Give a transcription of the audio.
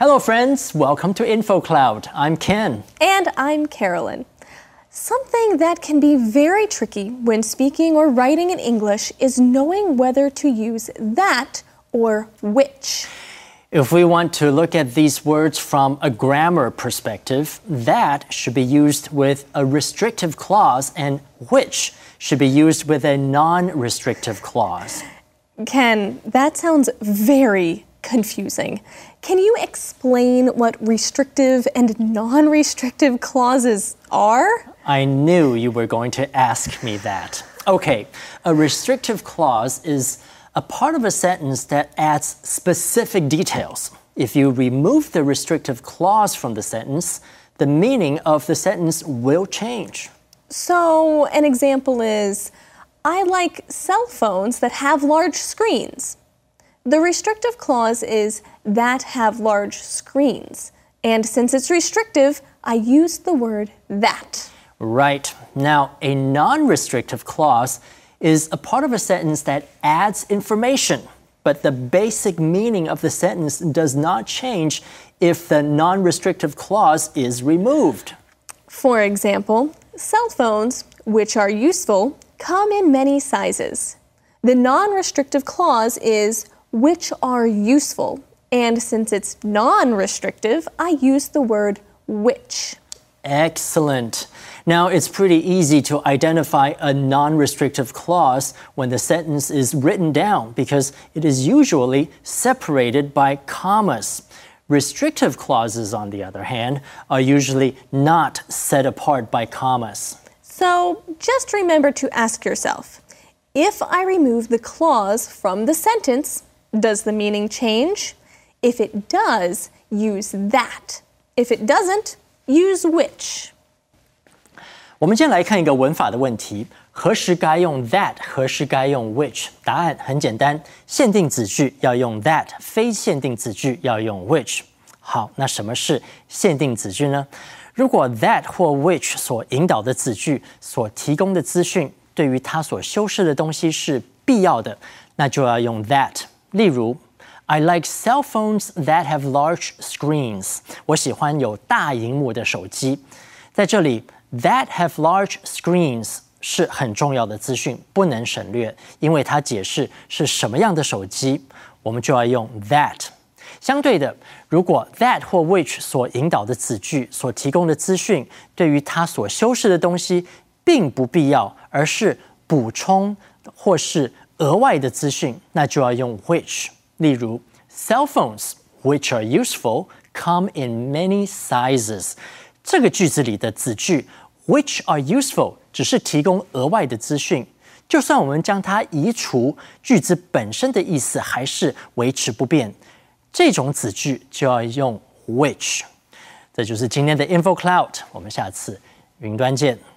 Hello, friends. Welcome to InfoCloud. I'm Ken. And I'm Carolyn. Something that can be very tricky when speaking or writing in English is knowing whether to use that or which. If we want to look at these words from a grammar perspective, that should be used with a restrictive clause and which should be used with a non-restrictive clause. Ken, that sounds very confusing. Can you explain what restrictive and non-restrictive clauses are? I knew you were going to ask me that. Okay, a restrictive clause is a part of a sentence that adds specific details. If you remove the restrictive clause from the sentence, the meaning of the sentence will change. So, an example is, I like cell phones that have large screens. The restrictive clause is that have large screens. And since it's restrictive, I use the word that. Right. Now, a non-restrictive clause is a part of a sentence that adds information, but the basic meaning of the sentence does not change if the non-restrictive clause is removed. For example, cell phones, which are useful, come in many sizes. The non-restrictive clause is which are useful, and since it's non-restrictive, I use the word which. Excellent. Now, it's pretty easy to identify a non-restrictive clause when the sentence is written down because it is usually separated by commas. Restrictive clauses, on the other hand, are usually not set apart by commas. So just remember to ask yourself, if I remove the clause from the sentence, does the meaning change? If it does, use that. If it doesn't, use which. 我们今天来看一个文法的问题，何时该用 that， 何时该用 which？ 答案很简单，限定子句要用 that， 非限定子句要用 which。好，那什么是限定子句呢？如果 that 或 which 所引导的子句所提供的资讯对于它所修饰的东西是必要的，那就要用 that。例如 I like cell phones that have large screens. 我喜欢有大萤幕的手机。在这里 that have large screens 是很重要的资讯，不能省略，因为它解释是什么样的手机，我们就要用 that。相对的，如果 that 或 which 所引导的子句所提供的资讯对于它所修饰的东西并不必要，而是补充或是额外的资讯，那就要用 which。例如 cell phones which are useful come in many sizes。这个句子里的子句 which are useful 只是提供额外的资讯，就算我们将它移除，句子本身的意思还是维持不变。这种子句就要用 which。这就是今天的 InfoCloud， 我们下次云端见。